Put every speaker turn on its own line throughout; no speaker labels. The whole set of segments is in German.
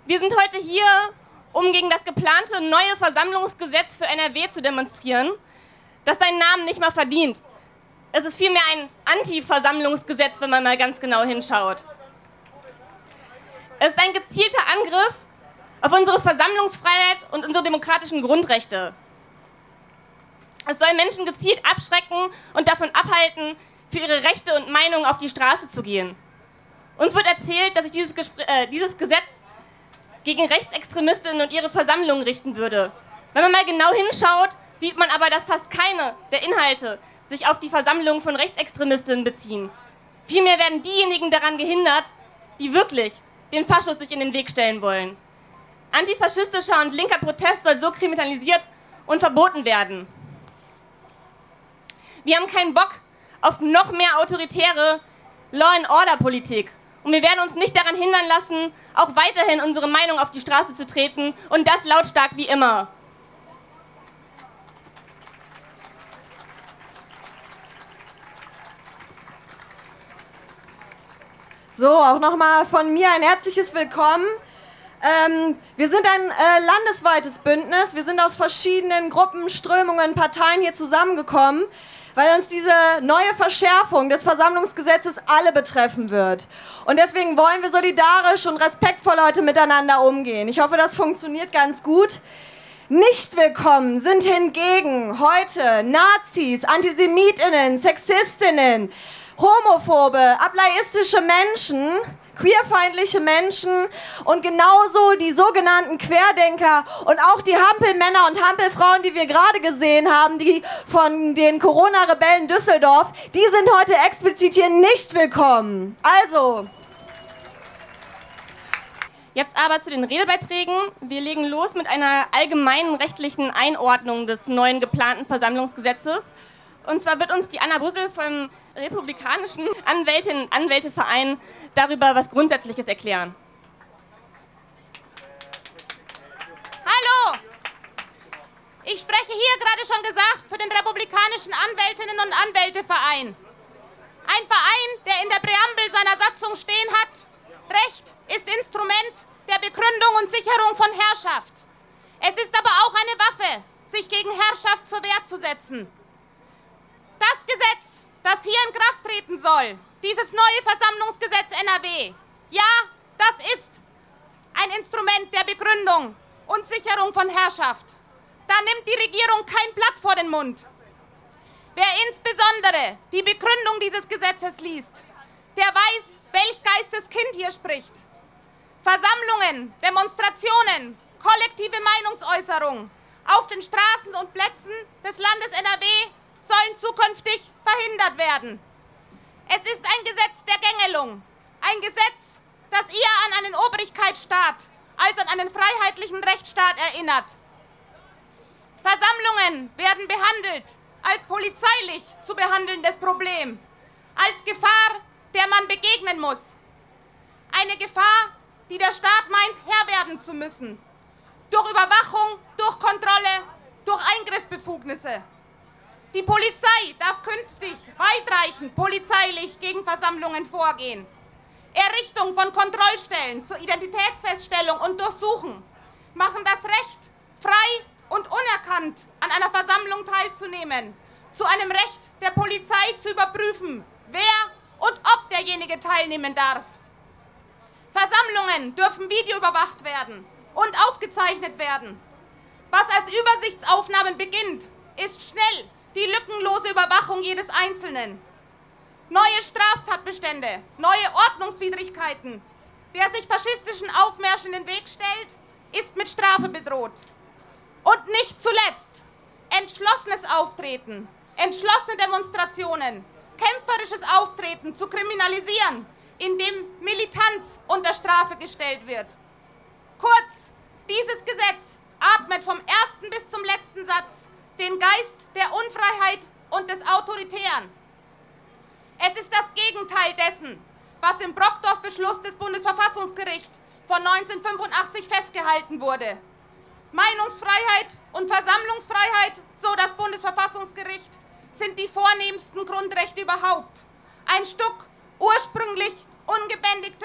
Wir sind heute hier, um gegen das geplante neue Versammlungsgesetz für NRW zu demonstrieren, das seinen Namen nicht mal verdient. Es ist vielmehr ein Anti-Versammlungsgesetz, wenn man mal ganz genau hinschaut. Es ist ein gezielter Angriff auf unsere Versammlungsfreiheit und unsere demokratischen Grundrechte. Es soll Menschen gezielt abschrecken und davon abhalten, für ihre Rechte und Meinungen auf die Straße zu gehen. Uns wird erzählt, dass sich dieses Gesetz gegen Rechtsextremistinnen und ihre Versammlungen richten würde. Wenn man mal genau hinschaut, sieht man aber, dass fast keine der Inhalte sich auf die Versammlungen von Rechtsextremistinnen beziehen. Vielmehr werden diejenigen daran gehindert, die wirklich den Faschos sich in den Weg stellen wollen. Antifaschistischer und linker Protest soll so kriminalisiert und verboten werden. Wir haben keinen Bock auf noch mehr autoritäre Law-and-Order-Politik. Und wir werden uns nicht daran hindern lassen, auch weiterhin unsere Meinung auf die Straße zu treten und das lautstark wie immer.
So, auch nochmal von mir ein herzliches Willkommen. Wir sind ein landesweites Bündnis. Wir sind aus verschiedenen Gruppen, Strömungen, Parteien hier zusammengekommen, weil uns diese neue Verschärfung des Versammlungsgesetzes alle betreffen wird. Und deswegen wollen wir solidarisch und respektvoll heute miteinander umgehen. Ich hoffe, das funktioniert ganz gut. Nicht willkommen sind hingegen heute Nazis, AntisemitInnen, SexistInnen, Homophobe, ableistische Menschen, queerfeindliche Menschen und genauso die sogenannten Querdenker und auch die Hampelmänner und Hampelfrauen, die wir gerade gesehen haben, die von den Corona-Rebellen Düsseldorf, die sind heute explizit hier nicht willkommen. Also.
Jetzt aber zu den Redebeiträgen. Wir legen los mit einer allgemeinen rechtlichen Einordnung des neuen geplanten Versammlungsgesetzes. Und zwar wird uns die Anna Bussel vom republikanischen Anwältinnen- und Anwälteverein darüber was Grundsätzliches erklären.
Hallo! Ich spreche hier, gerade schon gesagt, für den republikanischen Anwältinnen- und Anwälteverein. Ein Verein, der in der Präambel seiner Satzung stehen hat: Recht ist Instrument der Begründung und Sicherung von Herrschaft. Es ist aber auch eine Waffe, sich gegen Herrschaft zur Wehr zu setzen. Das Gesetz, das hier in Kraft treten soll, dieses neue Versammlungsgesetz NRW, ja, das ist ein Instrument der Begründung und Sicherung von Herrschaft. Da nimmt die Regierung kein Blatt vor den Mund. Wer insbesondere die Begründung dieses Gesetzes liest, der weiß, welch Geisteskind hier spricht. Versammlungen, Demonstrationen, kollektive Meinungsäußerung auf den Straßen und Plätzen des Landes NRW sollen zukünftig verhindert werden. Es ist ein Gesetz der Gängelung, ein Gesetz, das eher an einen Obrigkeitsstaat als an einen freiheitlichen Rechtsstaat erinnert. Versammlungen werden behandelt als polizeilich zu behandelndes Problem, als Gefahr, der man begegnen muss. Eine Gefahr, die der Staat meint, Herr werden zu müssen. Durch Überwachung, durch Kontrolle, durch Eingriffsbefugnisse. Die Polizei darf künftig weitreichend polizeilich gegen Versammlungen vorgehen. Errichtung von Kontrollstellen zur Identitätsfeststellung und Durchsuchen machen das Recht, frei und unerkannt an einer Versammlung teilzunehmen, zu einem Recht der Polizei zu überprüfen, wer und ob derjenige teilnehmen darf. Versammlungen dürfen videoüberwacht werden und aufgezeichnet werden. Was als Übersichtsaufnahmen beginnt, ist schnell die lückenlose Überwachung jedes Einzelnen. Neue Straftatbestände, neue Ordnungswidrigkeiten. Wer sich faschistischen Aufmärschen in den Weg stellt, ist mit Strafe bedroht. Und nicht zuletzt entschlossenes Auftreten, entschlossene Demonstrationen, kämpferisches Auftreten zu kriminalisieren, indem Militanz unter Strafe gestellt wird. Kurz, dieses Gesetz atmet vom ersten bis zum letzten Satz den Geist der Unfreiheit und des Autoritären. Es ist das Gegenteil dessen, was im Brockdorf-Beschluss des Bundesverfassungsgerichts von 1985 festgehalten wurde. Meinungsfreiheit und Versammlungsfreiheit, so das Bundesverfassungsgericht, sind die vornehmsten Grundrechte überhaupt. Ein Stück ursprünglich ungebändigter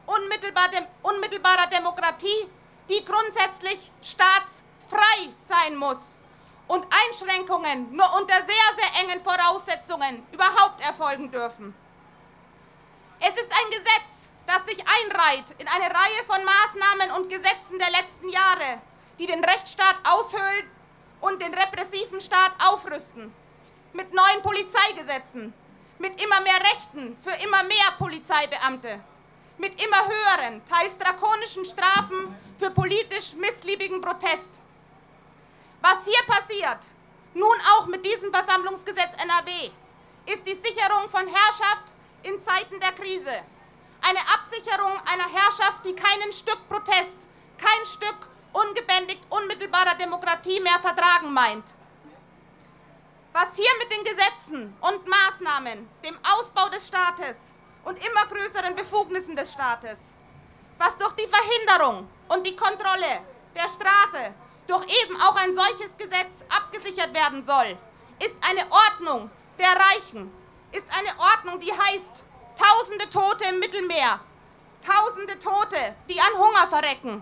unmittelbarer Demokratie, die grundsätzlich staatsfrei sein muss und Einschränkungen nur unter sehr, sehr engen Voraussetzungen überhaupt erfolgen dürfen. Es ist ein Gesetz, das sich einreiht in eine Reihe von Maßnahmen und Gesetzen der letzten Jahre, die den Rechtsstaat aushöhlen und den repressiven Staat aufrüsten. Mit neuen Polizeigesetzen, mit immer mehr Rechten für immer mehr Polizeibeamte, mit immer höheren, teils drakonischen Strafen für politisch missliebigen Protest. Was hier passiert, nun auch mit diesem Versammlungsgesetz NRW, ist die Sicherung von Herrschaft in Zeiten der Krise. Eine Absicherung einer Herrschaft, die kein Stück Protest, kein Stück ungebändigt unmittelbarer Demokratie mehr vertragen meint. Was hier mit den Gesetzen und Maßnahmen, dem Ausbau des Staates und immer größeren Befugnissen des Staates, was durch die Verhinderung und die Kontrolle der Straße durch eben auch ein solches Gesetz abgesichert werden soll, ist eine Ordnung der Reichen, ist eine Ordnung, die heißt, Tausende Tote im Mittelmeer, Tausende Tote, die an Hunger verrecken.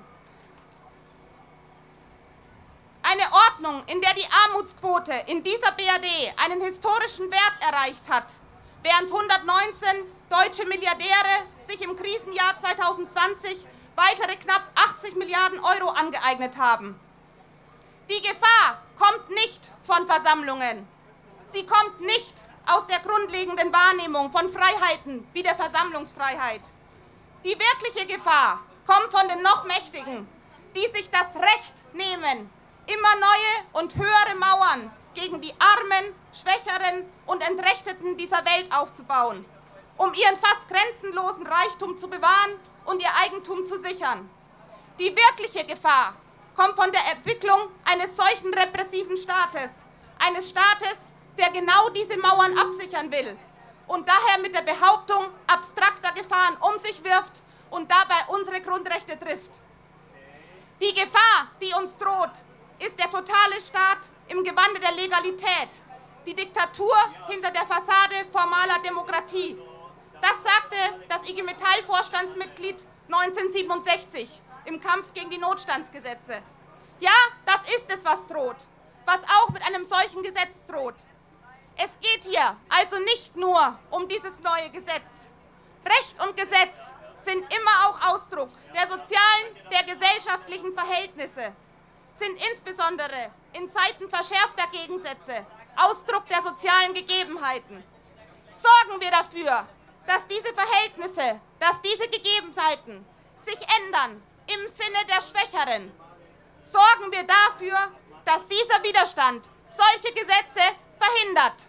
Eine Ordnung, in der die Armutsquote in dieser BRD einen historischen Wert erreicht hat, während 119 deutsche Milliardäre sich im Krisenjahr 2020 weitere knapp 80 Milliarden Euro angeeignet haben. Die Gefahr kommt nicht von Versammlungen. Sie kommt nicht aus der grundlegenden Wahrnehmung von Freiheiten wie der Versammlungsfreiheit. Die wirkliche Gefahr kommt von den noch Mächtigen, die sich das Recht nehmen, immer neue und höhere Mauern gegen die Armen, Schwächeren und Entrechteten dieser Welt aufzubauen, um ihren fast grenzenlosen Reichtum zu bewahren und ihr Eigentum zu sichern. Die wirkliche Gefahr kommt von der Entwicklung eines solchen repressiven Staates, eines Staates, der genau diese Mauern absichern will und daher mit der Behauptung abstrakter Gefahren um sich wirft und dabei unsere Grundrechte trifft. Die Gefahr, die uns droht, ist der totale Staat im Gewande der Legalität, die Diktatur hinter der Fassade formaler Demokratie. Das sagte das IG Metall-Vorstandsmitglied 1967 im Kampf gegen die Notstandsgesetze. Ja, das ist es, was droht, was auch mit einem solchen Gesetz droht. Es geht hier also nicht nur um dieses neue Gesetz. Recht und Gesetz sind immer auch Ausdruck der sozialen, der gesellschaftlichen Verhältnisse, sind insbesondere in Zeiten verschärfter Gegensätze Ausdruck der sozialen Gegebenheiten. Sorgen wir dafür, dass diese Verhältnisse, dass diese Gegebenheiten sich ändern im Sinne der Schwächeren. Sorgen wir dafür, dass dieser Widerstand solche Gesetze verhindert.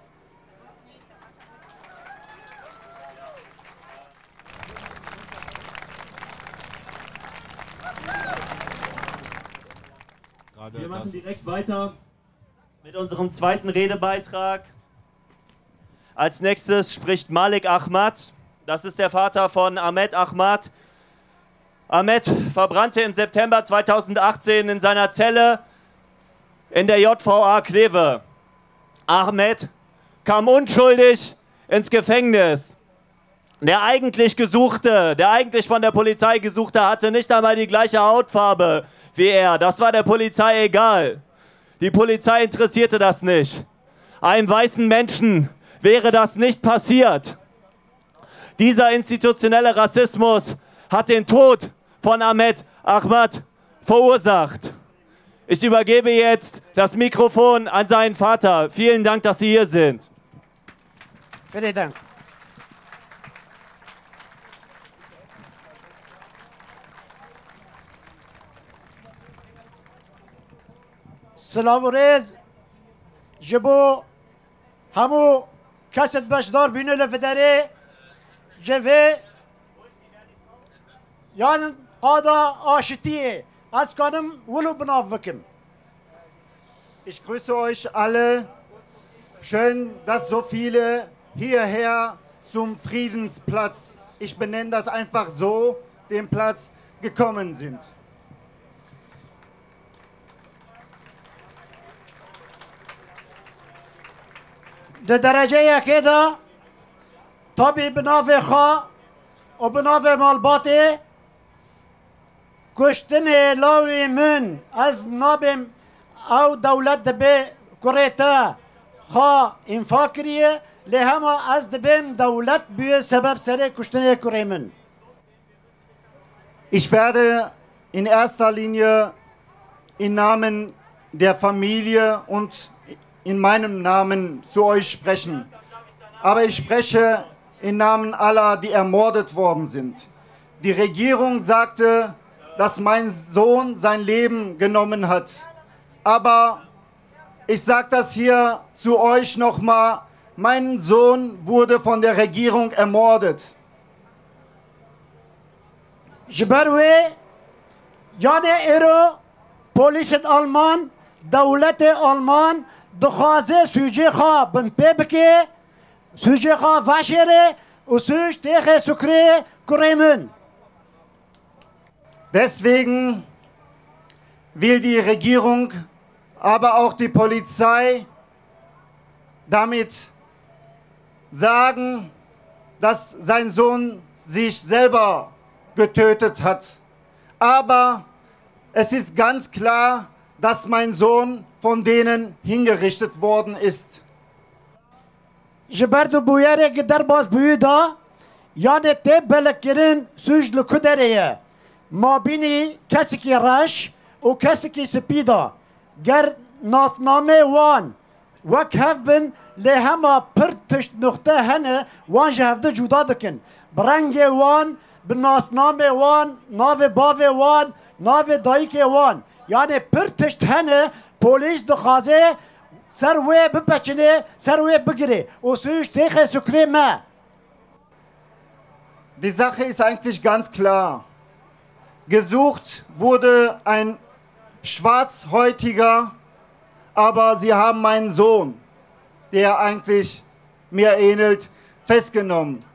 Wir machen direkt weiter mit unserem zweiten Redebeitrag. Als nächstes spricht Malik Ahmad. Das ist der Vater von Ahmed Ahmad. Ahmed verbrannte im September 2018 in seiner Zelle in der JVA Kleve. Ahmed kam unschuldig ins Gefängnis. Der eigentlich Gesuchte, der eigentlich von der Polizei Gesuchte, hatte nicht einmal die gleiche Hautfarbe wie er. Das war der Polizei egal. Die Polizei interessierte das nicht. Einem weißen Menschen wäre das nicht passiert. Dieser institutionelle Rassismus hat den Tod von Ahmed Ahmad verursacht. Ich übergebe jetzt das Mikrofon an seinen Vater. Vielen Dank, dass Sie hier sind.
Vielen Dank. سلام و ریز جبو همو کست بشدار بینه لفدره جوه یعنی قادا آشتیه از کنم ولو بناف بکم.
Ich grüße euch alle. Schön, dass so viele hierher zum Friedensplatz, ich benenne das einfach so, den Platz gekommen sind.
در درجه یکی دا تابی بناف خواه و بناف مالباته کشتن لاوی من از نابم او دولت دبه کریتا خوا انفاکریه لهما از دبم دولت بیه سبب سر کشتن کری من.
Ich werde in erster Linie im Namen der Familie und in meinem Namen zu euch sprechen. Aber ich spreche im Namen aller, die ermordet worden sind. Die Regierung sagte, dass mein Sohn sein Leben genommen hat. Aber ich sage das hier zu euch nochmal, mein Sohn wurde von der Regierung ermordet.
جبروی یاد ایرو پلیس آلمان دولت آلمان دخوازه سوژه خواه بنپه بکه سوژه خواه وشره و سوژ تیخ سکره کریمن.
Deswegen will die Regierung, aber auch die Polizei damit sagen, dass sein Sohn sich selber getötet hat. Aber es ist ganz klar, dass mein Sohn von denen hingerichtet worden ist.
جبرد بویره که در باز بویدا یاد تی بلکرین سوژ لکدریه ما بینی کسی که رش و کسی که سپیدا گر ناسنامه وان وک هف بن لهما پر تشت نقطه هنه وان جهفده جدا دکن برنگ وان بناسنامه وان ناو باو وان ناو دایک وان یعنی پر تشت هنه پولیس دخوازه سر وی بپچنه سر وی بگیره و سوش تیخ سکره ما.
Die Sache ist eigentlich ganz klar. Gesucht wurde ein Schwarzhäutiger, aber sie haben meinen Sohn, der eigentlich mir ähnelt, festgenommen.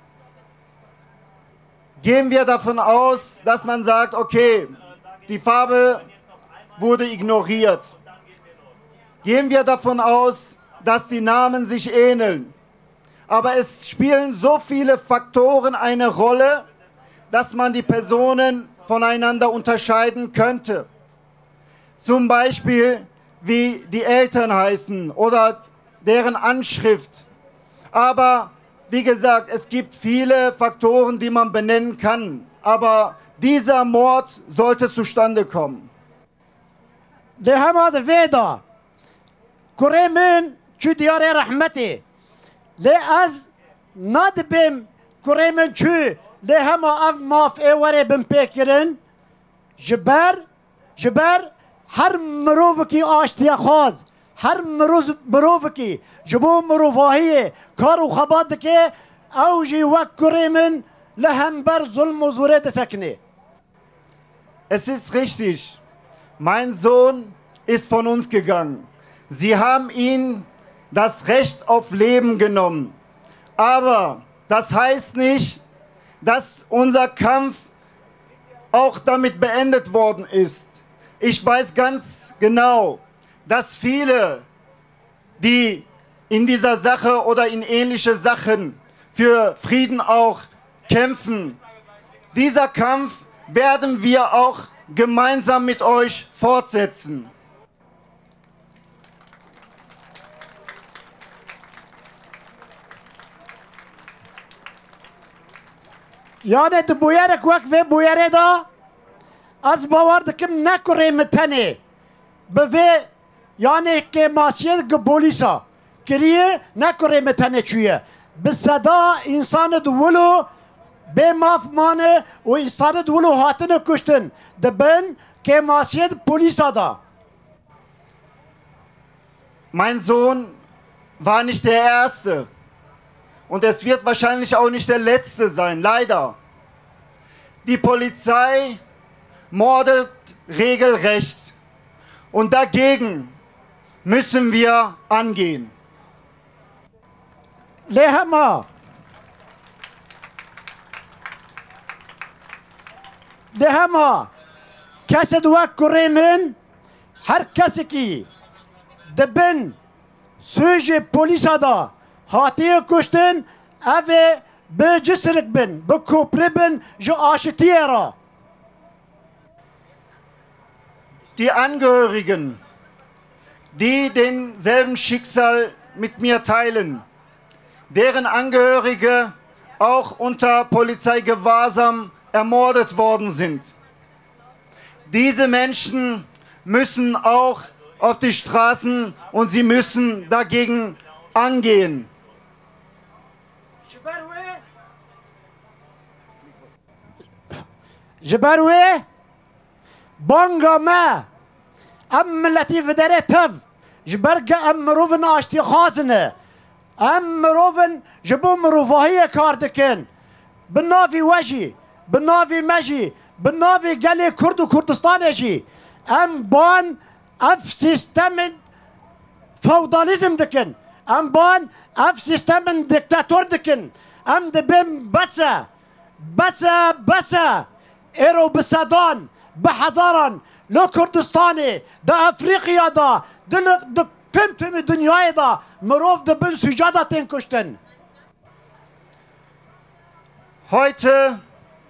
Gehen wir davon aus, dass man sagt, okay, die Farbe wurde ignoriert. Gehen wir davon aus, dass die Namen sich ähneln. Aber es spielen so viele Faktoren eine Rolle, dass man die Personen voneinander unterscheiden könnte. Zum Beispiel, wie die Eltern heißen oder deren Anschrift. Aber wie gesagt, es gibt viele Faktoren, die man benennen kann. Aber dieser Mord sollte zustande kommen.
ده هما ده ویدا کریمن چو دیار رحمتی لی از ندبیم کریمن چو لی هما اف ماف ایواره بم پیکرن جبر هر مروف کی آشتی خواز هر مروف کی جبو مروفاهیه کار و خبات که اوجی وک کریمن لهم بر ظلم و زوره سکنه.
Es ist richtig. Mein Sohn ist von uns gegangen. Sie haben ihm das Recht auf Leben genommen. Aber das heißt nicht, dass unser Kampf auch damit beendet worden ist. Ich weiß ganz genau, dass viele, die in dieser Sache oder in ähnliche Sachen für Frieden auch kämpfen, dieser Kampf werden wir auch gemeinsam mit euch fortsetzen.
یادت بویرک وقت و بویره دا از باور دکم نکره متنه به یعنی که ماسیت گبولیسا کریه نکره متنه چویه به صدا انسان دولو به مافمانه و انسان دولو هاتن کشتن دبن که ماسیت پولیسا دا.
Mein Sohn war nicht der Erste. Und es wird wahrscheinlich auch nicht der Letzte sein, leider. Die Polizei mordet regelrecht. Und dagegen müssen wir angehen.
لهما کسی دو کریمن هر کسی کی دبن سوژ پلیسا دا هاتی کشتن اوه به جسرک بن به کوپره بن جو آشتیه را.
die Angehörigen, die denselben Schicksal mit mir teilen, deren Angehörige auch unter Polizeigewahrsam ermordet worden sind. Diese Menschen müssen auch auf die Straßen und sie müssen dagegen angehen.
جبروي بانغا ما ام ملتي فدري تف جبرقة ام مروفن اشتي خازنة ام مروفن جبو مروفاهية كاردكن بالنافي وجي بالنافي مجي بالنافي قالي كرد وكردستان جي ام بان اف سيستم فوضاليزم دكن ام بان اف سيستم ديكتاتور دكن ام دبم بسا ایرو بسدان بحزاران لو کردستانی دا افریقیا دا دا تم دنیای دا مروف دا بن سجاده تین کشتن.
Heute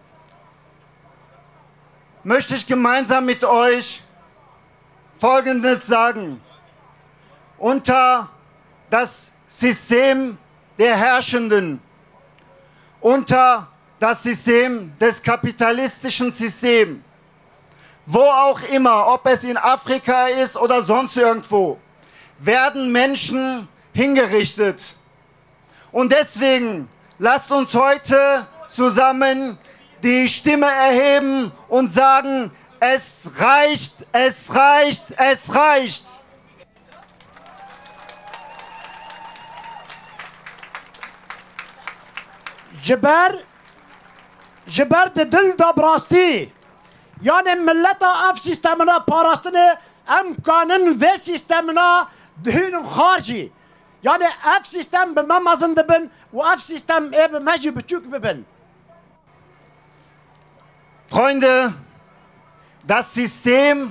möchte ich gemeinsam mit euch Folgendes sagen. Unter das System der Herrschenden, unter das System des kapitalistischen Systems, wo auch immer, ob es in Afrika ist oder sonst irgendwo, werden Menschen hingerichtet. Und deswegen lasst uns heute zusammen die Stimme erheben und sagen, es reicht, es reicht, es reicht.
جبر دل دا براستی یعنی ملتا اف سیستمنا پاراستنه ام کانن و سیستمنا دهین خارجی یعنی اف سیستم به ما مزنده بن و اف سیستم ای به مجی بچوک ببن.
Freunde, das System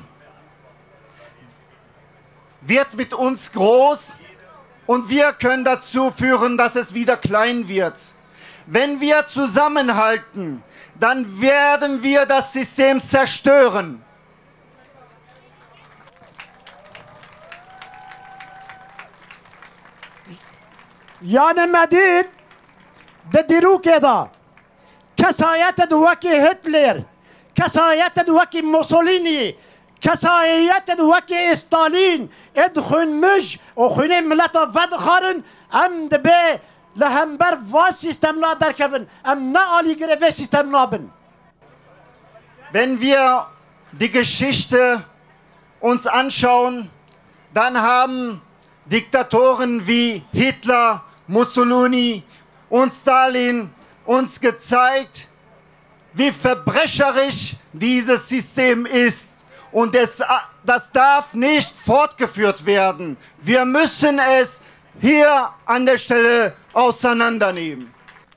wird mit uns groß und wir können dazu führen, dass es wieder klein wird. Wenn wir zusammenhalten, dann werden wir das System zerstören.
یعنی مدید ده دیروکه دا کسایت دوکی هتلر کسایت دوکی موسولینی کسایت دوکی استالین ادخون مج و خونه ملتا ود خارن ام دبه لهمبر و سیستم نا در کفن ام نا آلی گره و سیستم نا بن.
Wenn wir die Geschichte uns anschauen, dann haben Diktatoren wie Hitler, Mussolini und Stalin uns gezeigt, wie verbrecherisch dieses System ist. Und das darf nicht fortgeführt werden. Wir müssen es hier an der Stelle auseinandernehmen.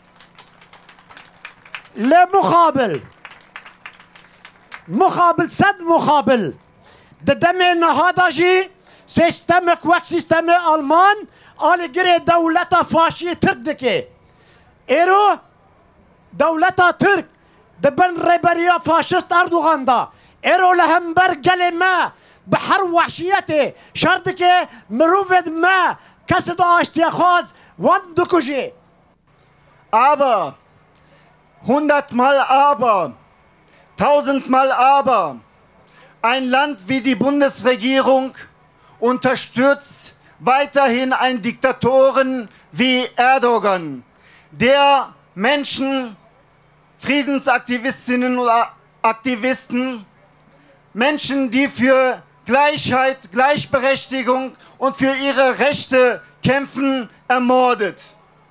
مقابل صد مقابل دم نهادا جي سيستمك وك سيستم ألمان آل جري دولة فاشية ترك دكي إيرو دولة ترك دبن ريبريا فاشست أردوغان دا إيرو لهمبر قلما بحر وحشيته شردك مروفد ما كسد اشتياخاز وان دكوجي.
Aber 100-mal aber, 1000-mal aber, ein Land wie die Bundesregierung unterstützt weiterhin einen Diktatoren wie Erdogan, der Menschen, Friedensaktivistinnen oder Aktivisten, Menschen, die für Gleichheit, Gleichberechtigung und für ihre Rechte kämpfen, ermordet.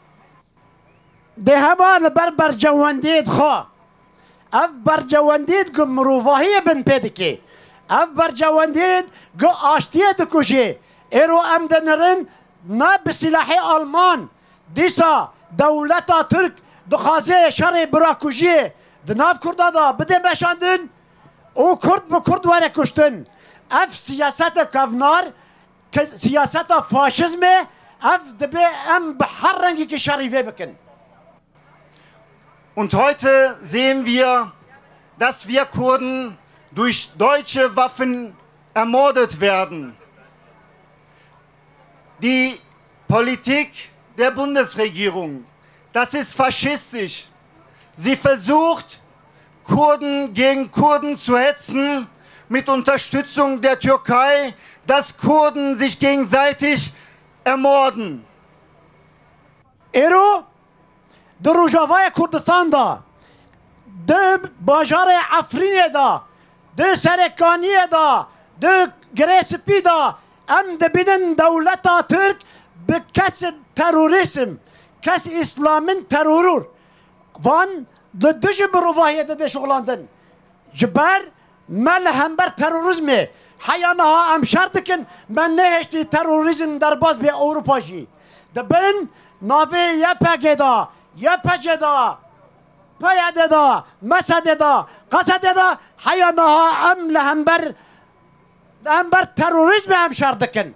ده همان بربر جواندید خوا اف بر جواندید گو مروفاهی بن پیدکی اف بر جواندید گو آشتیه دکوشی ایرو امدنرن نا بسلاحی آلمان دیسا دولتا ترک دخازه شر براکوشی دناف کرده دا بده بشاندن او کرد به کرد وره کشتن اف سیاست کافنار سیاست فاشزم اف دبه ام بحر رنگی که شریفه بکن.
Und heute sehen wir, dass wir Kurden durch deutsche Waffen ermordet werden. Die Politik der Bundesregierung, das ist faschistisch. Sie versucht, Kurden gegen Kurden zu hetzen, mit Unterstützung der Türkei, dass Kurden sich gegenseitig ermorden.
ایرو در روجاوای کردستان دا در باجار عفرین دا در سرکانی دا در گریسپی دا ام دبینن دولتا ترک به کس تروریسم کس اسلامن ترورور وان دجی بروواهی ده شغلاندن جبر مل همبر تروریزمه حیانها ام شردکن من نهشتی تروریزم در باز به اروپا جی دبن ناوی یا پگدا یا پجدا پیاده مسد دا قصد دا حیانها ام لهمبر Terrorismus am Schardecken.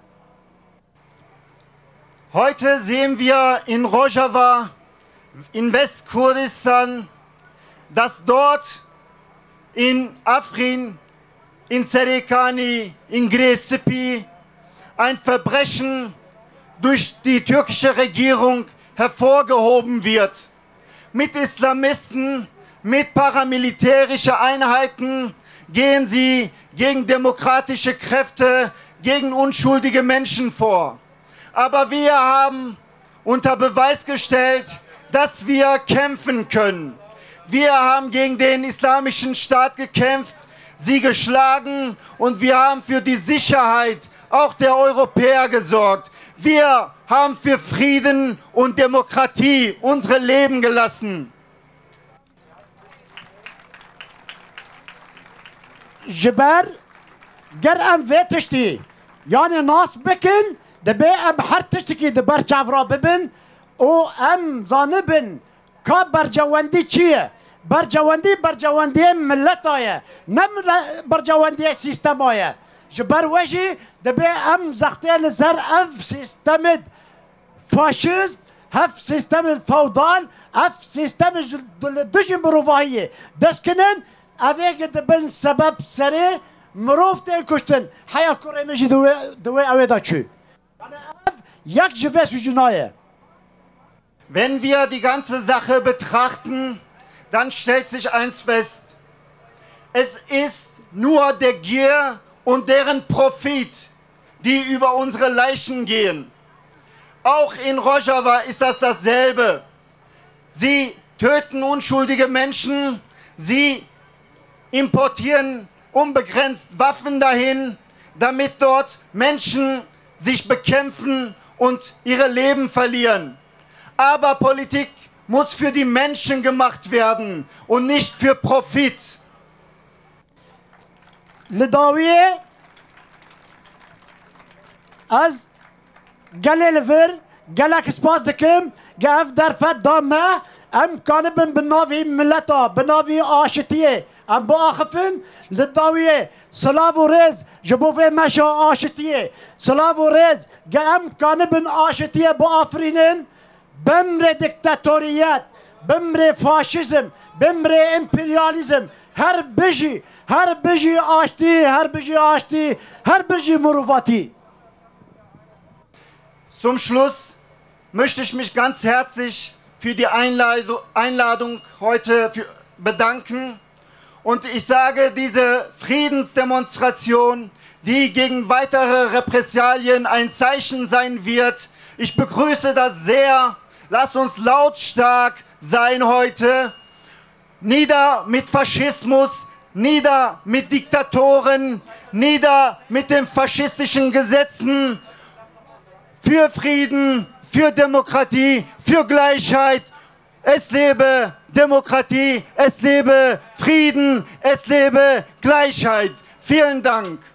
Heute sehen wir in Rojava, in Westkurdistan, dass dort in Afrin, in Serikani, in Grecepi ein Verbrechen durch die türkische Regierung hervorgehoben wird. Mit Islamisten, mit paramilitärischen Einheiten gehen sie gegen demokratische Kräfte, gegen unschuldige Menschen vor. Aber wir haben unter Beweis gestellt, dass wir kämpfen können. Wir haben gegen den islamischen Staat gekämpft, sie geschlagen und wir haben für die Sicherheit auch der Europäer gesorgt. Wir haben für Frieden und Demokratie unsere Leben gelassen.
جبر گر ام ویتشتی یعنی ناس بکن دبی ام هر تشتکی دبر چافرا ببن او ام زانبن که برجواندی چیه برجواندی ملت آیه نم برجواندی سیستم آیه جبر وجی دبی ام زختی لزر اف سیستم فاشیزم هف سیستم فودال اف سیستم دوشی بروواهیه دست کنن اوه دبن سبب سری مروف تیل کشتن حیا کره میشی دوی اوه دا چی یک جوه سجنایه.
Wenn wir die ganze Sache betrachten, dann stellt sich eins fest. Es ist nur der Gier und deren Profit, die über unsere Leichen gehen. Auch in Rojava ist das dasselbe. Sie töten unschuldige Menschen, sie importieren unbegrenzt Waffen dahin, damit dort Menschen sich bekämpfen und ihre Leben verlieren. Aber Politik muss für die Menschen gemacht werden und nicht für Profit.
لداویه از گله لفر گله کسپاس دکم گف در فد دامه ام کانبن بناوی ملتا بناوی آشتیه ام با آخفن لداویه سلاو و رز جبوفه مشا آشتیه سلاو و رز گم کانبن آشتیه با آفرینن بمر دیکتاتوریت بمر فاشیزم بمر امپریالیزم هر بجی آشتی هر بجی مروفاتی.
Zum Schluss möchte ich mich ganz herzlich für die Einladung heute bedanken. Und ich sage, diese Friedensdemonstration, die gegen weitere Repressalien ein Zeichen sein wird, ich begrüße das sehr. Lasst uns lautstark sein heute. Nieder mit Faschismus, nieder mit Diktatoren, nieder mit den faschistischen Gesetzen. Für Frieden, für Demokratie, für Gleichheit. Es lebe Demokratie, es lebe Frieden, es lebe Gleichheit. Vielen Dank.